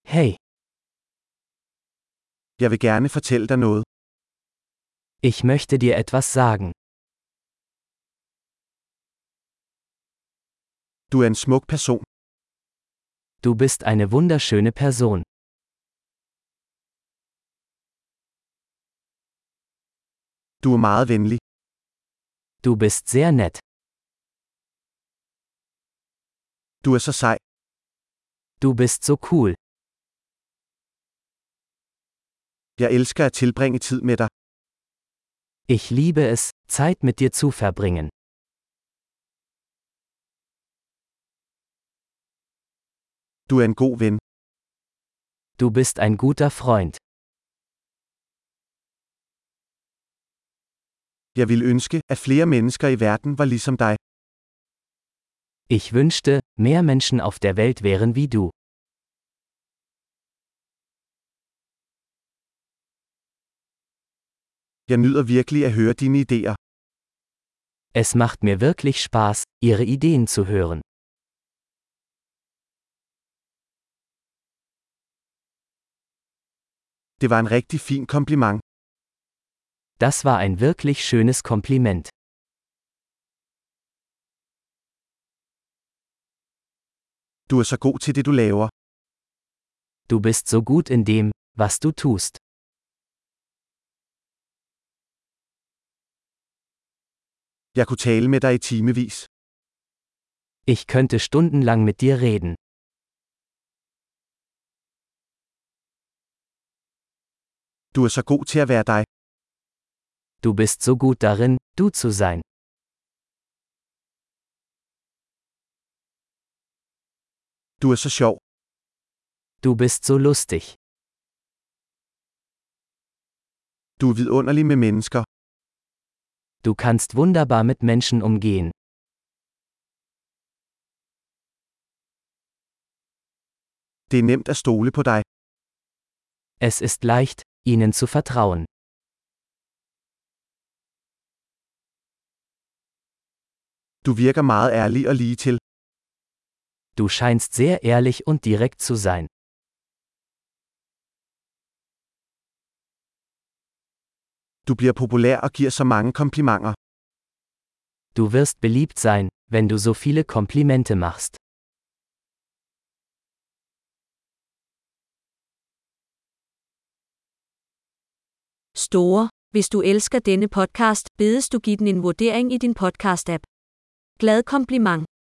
Hey, Jeg vil gerne fortælle dig noget. ich möchte dir etwas sagen. Du er en smuk person. Du bist eine wunderschöne Person. Du er meget venlig. Du bist sehr nett. Du er så sej. Du bist so cool. Jeg elsker at tilbringe tid med dig. Ich liebe es, Zeit mit dir zu verbringen. Du er en god ven. Du bist ein guter Freund. Jeg ville ønske, at flere mennesker i verden var ligesom dig. Ich wünschte, mehr Menschen auf der Welt wären wie du. Jeg nyder virkelig at høre dine idéer. Es macht mir wirklich Spaß, Ihre Ideen zu hören. Det var en rigtig fin kompliment. Das war ein wirklich schönes Kompliment. Du er så god til det, du laver. Du bist so gut in dem, was du tust. Jeg kunne tale med dig i timevis. Ich könnte stundenlang mit dir reden. Du er så god til at være dig. Du bist so gut darin, du zu sein. Du er så sjov. Du bist so lustig. Du er vidunderlig med mennesker. Du kannst wunderbar mit Menschen umgehen. Det er nemt at stole på dig. Es ist leicht, ihnen zu vertrauen. Du virker meget ærlig og ligetil. Du scheinst sehr ehrlich und direkt zu sein. Du bliver populær og giver så mange komplimenter. Du wirst beliebt sein, wenn du so viele Komplimente machst. Store. Hvis du elsker denne podcast, bedes du give den en vurdering i din podcast-app. Glad kompliment.